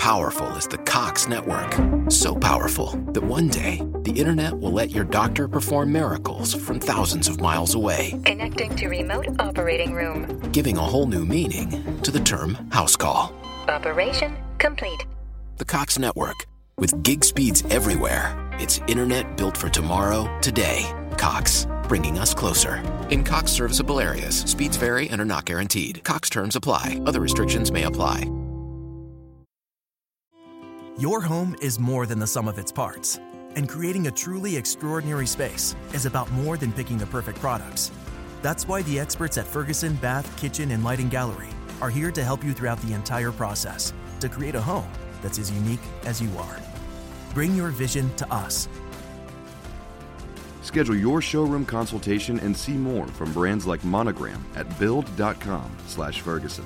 powerful is the Cox network. So powerful that one day, the internet will let your doctor perform miracles from thousands of miles away. Connecting to remote operating room. Giving a whole new meaning to the term house call. Operation complete. The Cox network. With gig speeds everywhere. It's internet built for tomorrow, today. Cox, bringing us closer. In Cox serviceable areas, speeds vary and are not guaranteed. Cox terms apply. Other restrictions may apply. Your home is more than the sum of its parts. And creating a truly extraordinary space is about more than picking the perfect products. That's why the experts at Ferguson Bath, Kitchen, and Lighting Gallery are here to help you throughout the entire process to create a home that's as unique as you are. Bring your vision to us. Schedule your showroom consultation and see more from brands like Monogram at build.com/Ferguson.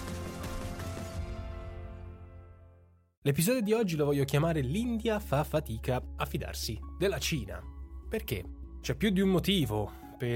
L'episodio di oggi lo voglio chiamare "L'India fa fatica a fidarsi della Cina". Perché? C'è più di un motivo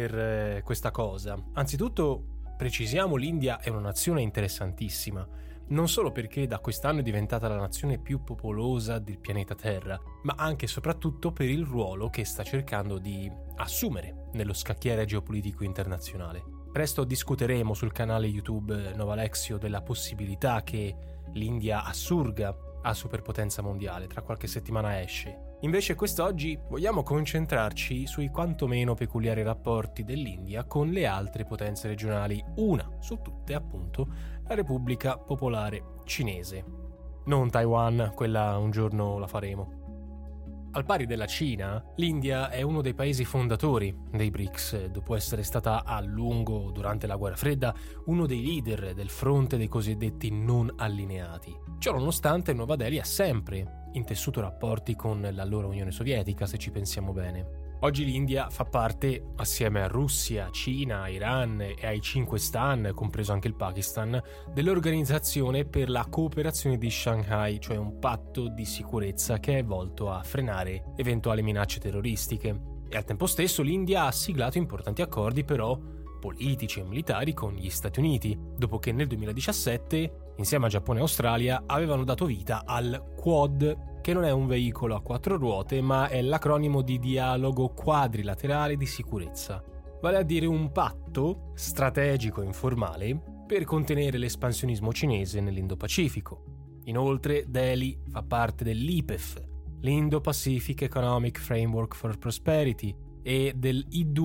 per questa cosa. Anzitutto, precisiamo, l'India è una nazione interessantissima. Non solo perché da quest'anno è diventata la nazione più popolosa del pianeta Terra, ma anche e soprattutto per il ruolo che sta cercando di assumere nello scacchiere geopolitico internazionale. Presto discuteremo sul canale YouTube Novalexio della possibilità che l'India assurga a superpotenza mondiale, tra qualche settimana esce. Invece quest'oggi vogliamo concentrarci sui quantomeno peculiari rapporti dell'India con le altre potenze regionali, una su tutte appunto la Repubblica Popolare Cinese. Non Taiwan, quella un giorno la faremo. Al pari della Cina, l'India è uno dei paesi fondatori dei BRICS, dopo essere stata a lungo, durante la Guerra Fredda, uno dei leader del fronte dei cosiddetti non allineati. Ciò nonostante, Nuova Delhi ha sempre intessuto rapporti con l'allora Unione Sovietica, se ci pensiamo bene. Oggi l'India fa parte, assieme a Russia, Cina, Iran e ai 5 Stan, compreso anche il Pakistan, dell'Organizzazione per la Cooperazione di Shanghai, cioè un patto di sicurezza che è volto a frenare eventuali minacce terroristiche. E al tempo stesso l'India ha siglato importanti accordi però politici e militari con gli Stati Uniti, dopo che nel 2017, insieme a Giappone e Australia, avevano dato vita al Quad, che non è un veicolo a 4 ruote, ma è l'acronimo di Dialogo Quadrilaterale di Sicurezza, vale a dire un patto strategico informale per contenere l'espansionismo cinese nell'Indo-Pacifico. Inoltre, Delhi fa parte dell'IPEF, l'Indo-Pacific Economic Framework for Prosperity, e del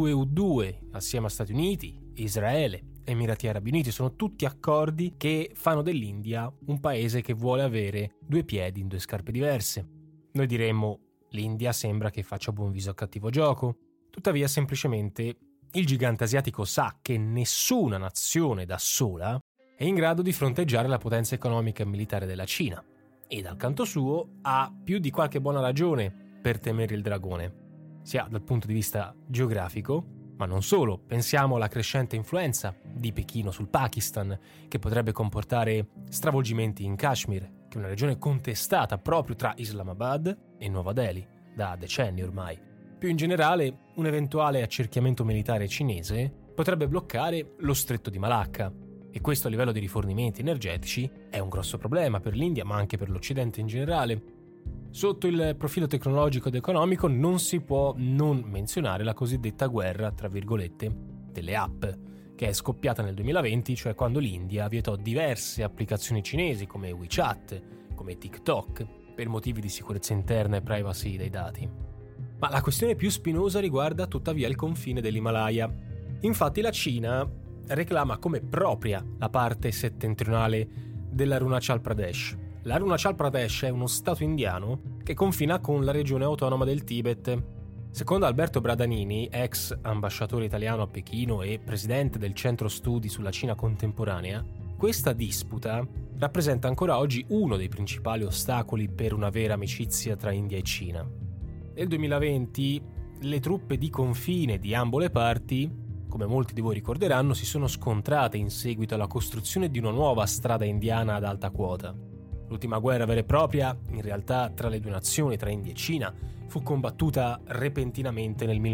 I2U2, assieme a Stati Uniti, Israele, Emirati Arabi Uniti. Sono tutti accordi che fanno dell'India un paese che vuole avere due piedi in due scarpe diverse. Noi diremmo, l'India sembra che faccia buon viso a cattivo gioco. Tuttavia, semplicemente, il gigante asiatico sa che nessuna nazione da sola è in grado di fronteggiare la potenza economica e militare della Cina. E dal canto suo ha più di qualche buona ragione per temere il dragone, sia dal punto di vista geografico, ma non solo. Pensiamo alla crescente influenza di Pechino sul Pakistan, che potrebbe comportare stravolgimenti in Kashmir, che è una regione contestata proprio tra Islamabad e Nuova Delhi, da decenni ormai. Più in generale, un eventuale accerchiamento militare cinese potrebbe bloccare lo stretto di Malacca, e questo a livello di rifornimenti energetici è un grosso problema per l'India, ma anche per l'Occidente in generale. Sotto il profilo tecnologico ed economico non si può non menzionare la cosiddetta guerra, tra virgolette, delle app, che è scoppiata nel 2020, cioè quando l'India vietò diverse applicazioni cinesi come WeChat, come TikTok, per motivi di sicurezza interna e privacy dei dati. Ma la questione più spinosa riguarda tuttavia il confine dell'Himalaya. Infatti la Cina reclama come propria la parte settentrionale dell'Arunachal Pradesh. L'Arunachal Pradesh è uno stato indiano che confina con la regione autonoma del Tibet. Secondo Alberto Bradanini, ex ambasciatore italiano a Pechino e presidente del Centro Studi sulla Cina Contemporanea, questa disputa rappresenta ancora oggi uno dei principali ostacoli per una vera amicizia tra India e Cina. Nel 2020 le truppe di confine di ambo le parti, come molti di voi ricorderanno, si sono scontrate in seguito alla costruzione di una nuova strada indiana ad alta quota. L'ultima guerra vera e propria, in realtà tra le due nazioni, tra India e Cina, fu combattuta repentinamente nel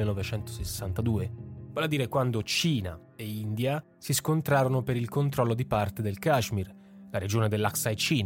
1962, vale a dire quando Cina e India si scontrarono per il controllo di parte del Kashmir, la regione dell'Aksai Chin,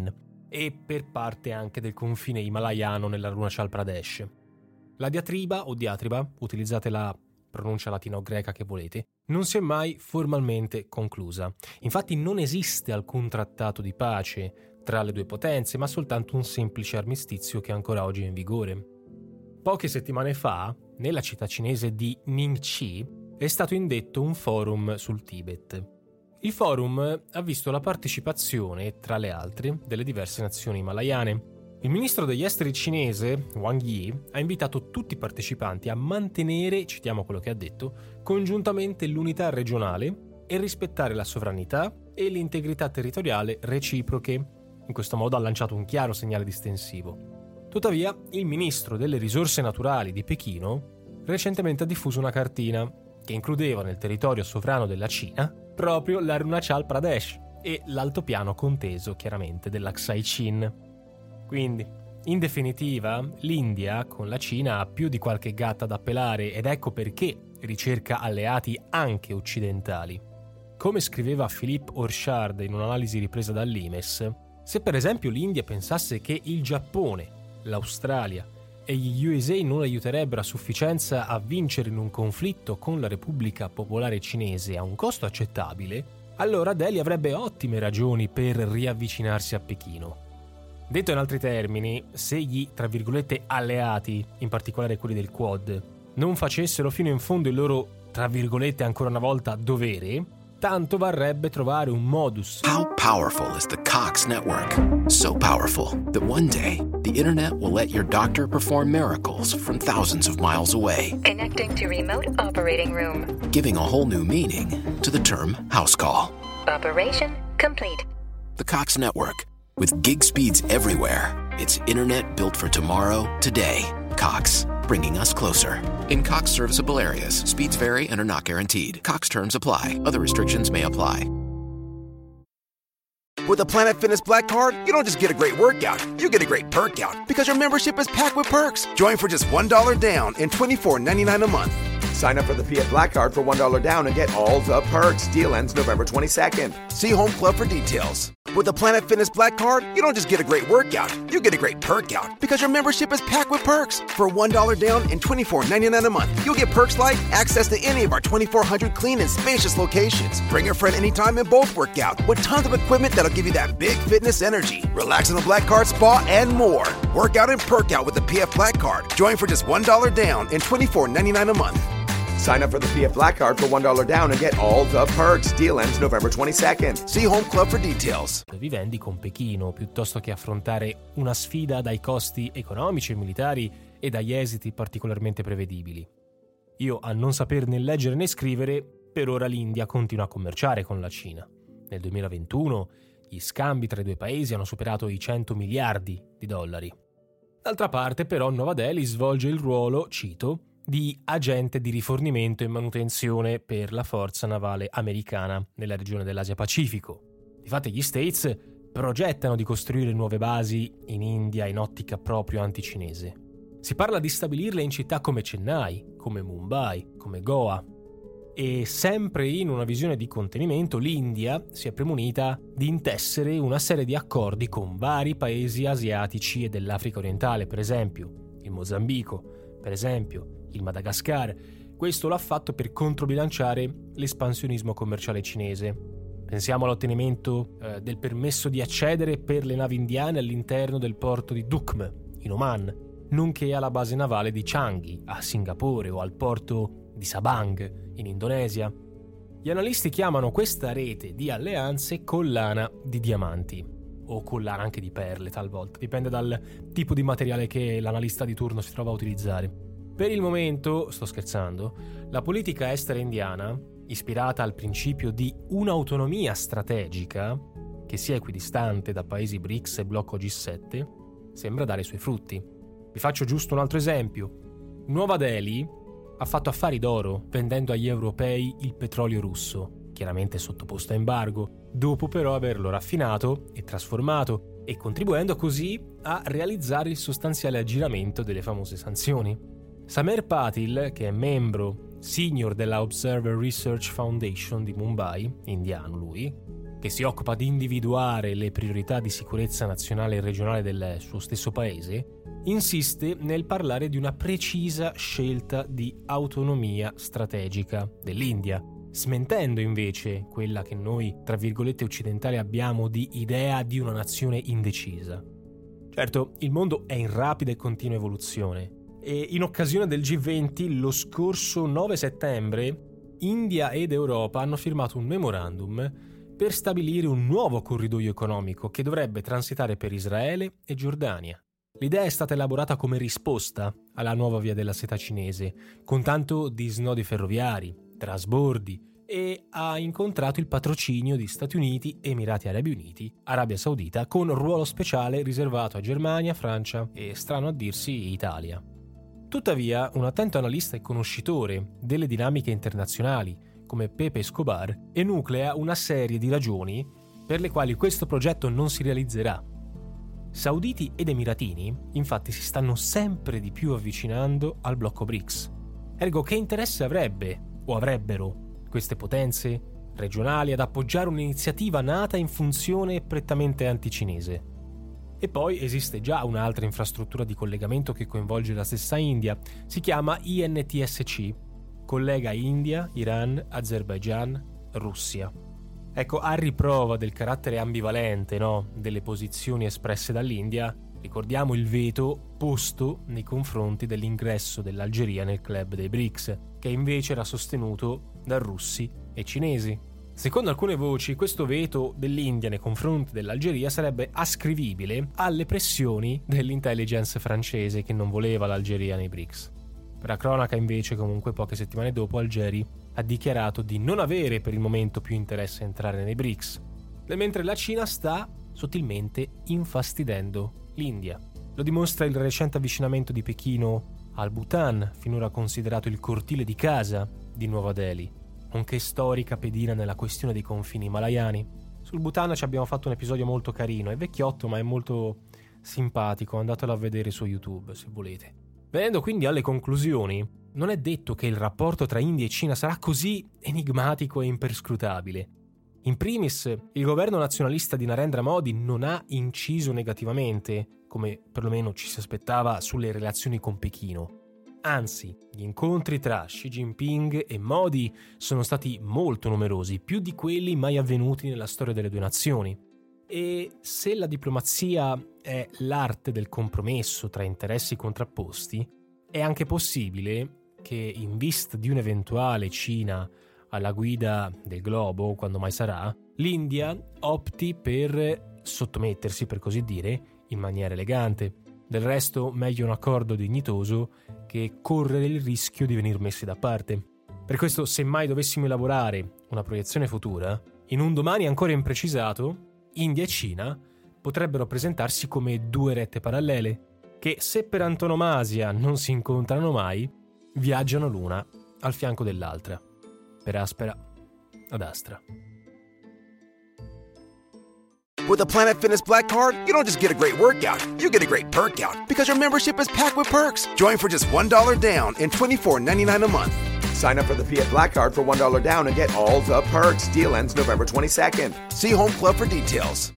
e per parte anche del confine himalayano nell'Arunachal Pradesh. La diatriba o diatriba, utilizzate la pronuncia latina o greca che volete, non si è mai formalmente conclusa. Infatti non esiste alcun trattato di pace tra le due potenze, ma soltanto un semplice armistizio che ancora oggi è in vigore. Poche settimane fa, nella città cinese di Ningxi, è stato indetto un forum sul Tibet. Il forum ha visto la partecipazione, tra le altre, delle diverse nazioni himalayane. Il ministro degli esteri cinese, Wang Yi, ha invitato tutti i partecipanti a mantenere, citiamo quello che ha detto, congiuntamente l'unità regionale e rispettare la sovranità e l'integrità territoriale reciproche. In questo modo ha lanciato un chiaro segnale distensivo. Tuttavia, il ministro delle risorse naturali di Pechino recentemente ha diffuso una cartina che includeva nel territorio sovrano della Cina proprio l'Arunachal Pradesh e l'altopiano conteso chiaramente dell'Aksai Chin. Quindi, in definitiva, l'India con la Cina ha più di qualche gatta da pelare ed ecco perché ricerca alleati anche occidentali. Come scriveva Philippe Orchard in un'analisi ripresa dall'Imes, se per esempio l'India pensasse che il Giappone, l'Australia e gli USA non aiuterebbero a sufficienza a vincere in un conflitto con la Repubblica Popolare Cinese a un costo accettabile, allora Delhi avrebbe ottime ragioni per riavvicinarsi a Pechino. Detto in altri termini, se gli, tra virgolette, alleati, in particolare quelli del Quad, non facessero fino in fondo il loro, tra virgolette, ancora una volta, dovere, tanto varrebbe trovare un modus. How powerful is the Cox network? So powerful that one day the internet will let your doctor perform miracles from thousands of miles away. Connecting to remote operating room. Giving a whole new meaning to the term house call. Operation complete. The Cox network. With gig speeds everywhere, it's internet built for tomorrow, today. Cox, bringing us closer. In Cox serviceable areas, speeds vary and are not guaranteed. Cox terms apply. Other restrictions may apply. With a Planet Fitness Black Card, you don't just get a great workout, you get a great perk out because your membership is packed with perks. Join for just $1 down and $24.99 a month. Sign up for the PF Black Card for $1 down and get all the perks. Deal ends November 22nd. See Home Club for details. With the Planet Fitness Black Card, you don't just get a great workout, you get a great perk out because your membership is packed with perks. For $1 down and $24.99 a month, you'll get perks like access to any of our 2,400 clean and spacious locations. Bring a friend anytime and both work out with tons of equipment that'll give you that big fitness energy. Relax in the Black Card spa and more. Work out and perk out with the PF Black Card. Join for just $1 down and $24.99 a month. Sign up for the PF Black Card for $1 down and get all the perks. Deal ends November 22nd. See Home Club for details. Vivendi con Pechino piuttosto che affrontare una sfida dai costi economici e militari e dagli esiti particolarmente prevedibili. Io, a non saper né leggere né scrivere, per ora l'India continua a commerciare con la Cina. Nel 2021 gli scambi tra i due paesi hanno superato i 100 miliardi di dollari. D'altra parte, però, Nuova Delhi svolge il ruolo, cito, di agente di rifornimento e manutenzione per la forza navale americana nella regione dell'Asia Pacifico. Difatti gli States progettano di costruire nuove basi in India in ottica proprio anticinese. Si parla di stabilirle in città come Chennai, come Mumbai, come Goa. E sempre in una visione di contenimento, l'India si è premunita di intessere una serie di accordi con vari paesi asiatici e dell'Africa orientale, per esempio il Mozambico, per esempio il Madagascar. Questo l'ha fatto per controbilanciare l'espansionismo commerciale cinese. Pensiamo all'ottenimento del permesso di accedere per le navi indiane all'interno del porto di Dukm, in Oman, nonché alla base navale di Changi, a Singapore, o al porto di Sabang, in Indonesia. Gli analisti chiamano questa rete di alleanze collana di diamanti, o collana anche di perle talvolta, dipende dal tipo di materiale che l'analista di turno si trova a utilizzare. Per il momento, sto scherzando, la politica estera indiana, ispirata al principio di un'autonomia strategica, che sia equidistante da paesi BRICS e blocco G7, sembra dare i suoi frutti. Vi faccio giusto un altro esempio. Nuova Delhi ha fatto affari d'oro vendendo agli europei il petrolio russo, chiaramente sottoposto a embargo, dopo però averlo raffinato e trasformato e contribuendo così a realizzare il sostanziale aggiramento delle famose sanzioni. Samer Patil, che è membro senior della Observer Research Foundation di Mumbai, indiano lui, che che si occupa di individuare le priorità di sicurezza nazionale e regionale del suo stesso paese, insiste nel parlare di una precisa scelta di autonomia strategica dell'India, smentendo invece quella che noi, tra virgolette, occidentali abbiamo di idea di una nazione indecisa. Certo, il mondo è in rapida e continua evoluzione e in occasione del G20 lo scorso 9 settembre India ed Europa hanno firmato un memorandum per stabilire un nuovo corridoio economico che dovrebbe transitare per Israele e Giordania. L'idea è stata elaborata come risposta alla nuova via della seta cinese, con tanto di snodi ferroviari, trasbordi, e ha incontrato il patrocinio di Stati Uniti, Emirati Arabi Uniti, Arabia Saudita, con ruolo speciale riservato a Germania, Francia e, strano a dirsi, Italia. Tuttavia, un attento analista e conoscitore delle dinamiche internazionali, come Pepe Escobar, enuclea una serie di ragioni per le quali questo progetto non si realizzerà. Sauditi ed emiratini, infatti, si stanno sempre di più avvicinando al blocco BRICS. Ergo, che interesse avrebbero queste potenze regionali ad appoggiare un'iniziativa nata in funzione prettamente anticinese? E poi esiste già un'altra infrastruttura di collegamento che coinvolge la stessa India, si chiama INTSC, collega India, Iran, Azerbaijan, Russia. Ecco, a riprova del carattere ambivalente, delle posizioni espresse dall'India, ricordiamo il veto posto nei confronti dell'ingresso dell'Algeria nel club dei BRICS, che invece era sostenuto da russi e cinesi. Secondo alcune voci, questo veto dell'India nei confronti dell'Algeria sarebbe ascrivibile alle pressioni dell'intelligence francese che non voleva l'Algeria nei BRICS. Per la cronaca, invece, comunque poche settimane dopo, Algeri ha dichiarato di non avere per il momento più interesse a entrare nei BRICS, mentre la Cina sta sottilmente infastidendo l'India. Lo dimostra il recente avvicinamento di Pechino al Bhutan, finora considerato il cortile di casa di Nuova Delhi, nonché storica pedina nella questione dei confini himalayani. Sul Bhutan ci abbiamo fatto un episodio molto carino, è vecchiotto ma è molto simpatico, andatelo a vedere su YouTube se volete. Venendo quindi alle conclusioni, non è detto che il rapporto tra India e Cina sarà così enigmatico e imperscrutabile. In primis, il governo nazionalista di Narendra Modi non ha inciso negativamente, come perlomeno ci si aspettava, sulle relazioni con Pechino. Anzi, gli incontri tra Xi Jinping e Modi sono stati molto numerosi, più di quelli mai avvenuti nella storia delle due nazioni. E se la diplomazia è l'arte del compromesso tra interessi contrapposti, è anche possibile che, in vista di un'eventuale Cina alla guida del globo, quando mai sarà, l'India opti per sottomettersi, per così dire, in maniera elegante. Del resto, meglio un accordo dignitoso che correre il rischio di venir messi da parte. Per questo, se mai dovessimo elaborare una proiezione futura, in un domani ancora imprecisato, India e Cina potrebbero presentarsi come due rette parallele, che, se per antonomasia non si incontrano mai, viaggiano l'una al fianco dell'altra, per aspera ad astra. With a Planet Fitness Black Card, you don't just get a great workout, you get a great perk out because your membership is packed with perks. Join for just $1 down and $24.99 a month. Sign up for the Fiat Black Card for $1 down and get all the perks. Deal ends November 22nd. See Home Club for details.